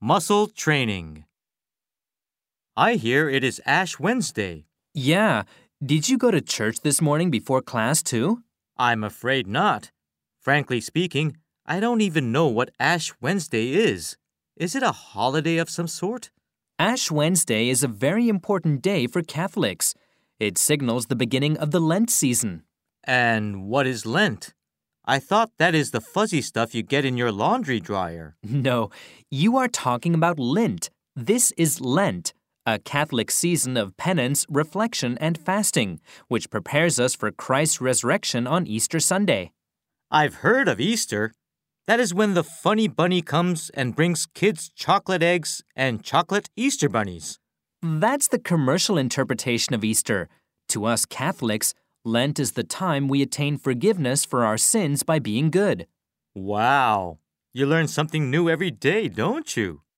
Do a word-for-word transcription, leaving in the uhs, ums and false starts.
Muscle training. I hear it is Ash Wednesday. Yeah. Did you go to church this morning before class too? I'm afraid not. Frankly speaking, I don't even know what Ash Wednesday is. Is it a holiday of some sort? Ash Wednesday is a very important day for Catholics. It signals the beginning of the Lent season. And what is Lent? I thought that is the fuzzy stuff you get in your laundry dryer. No, you are talking about Lent. This is Lent, a Catholic season of penance, reflection, and fasting, which prepares us for Christ's resurrection on Easter Sunday. I've heard of Easter. That is when the funny bunny comes and brings kids chocolate eggs and chocolate Easter bunnies. That's the commercial interpretation of Easter. To us Catholics, Lent is the time we attain forgiveness for our sins by being good. Wow. You learn something new every day, don't you?